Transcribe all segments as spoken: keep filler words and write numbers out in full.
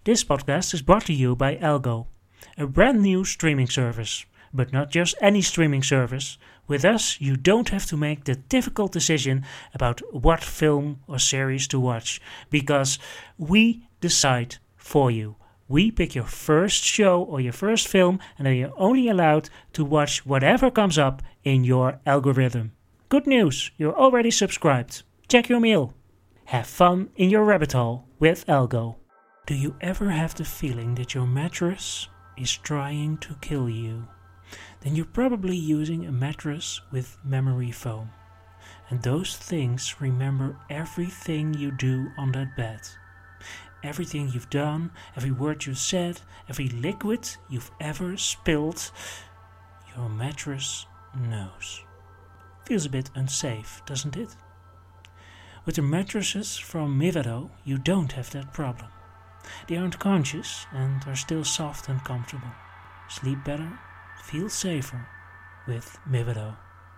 This podcast is brought to you by Algo, a brand new streaming service. But not just any streaming service. With us, you don't have to make the difficult decision about what film or series to watch, because we decide for you. We pick your first show or your first film, and then you're only allowed to watch whatever comes up in your algorithm. Good news, you're already subscribed. Check your mail. Have fun in your rabbit hole with Algo. Do you ever have the feeling that your mattress is trying to kill you? Then you're probably using a mattress with memory foam. And those things remember everything you do on that bed. Everything you've done, every word you said, every liquid you've ever spilled, your mattress knows. Feels a bit unsafe, doesn't it? With the mattresses from Mivado, you don't have that problem. They aren't conscious and are still soft and comfortable. Sleep better, feel safer with Mivado.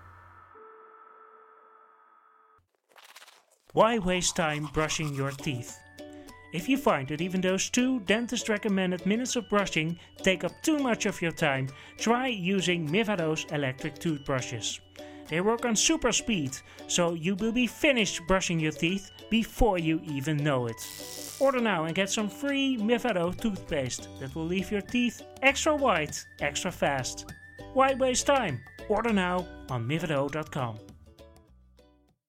Why waste time brushing your teeth? If you find that even those two dentist-recommended minutes of brushing take up too much of your time, try using Mivado's electric toothbrushes. They work on super speed, so you will be finished brushing your teeth before you even know it. Order now and get some free Mivado toothpaste that will leave your teeth extra white, extra fast. Why waste time? Order now on Mivado dot com.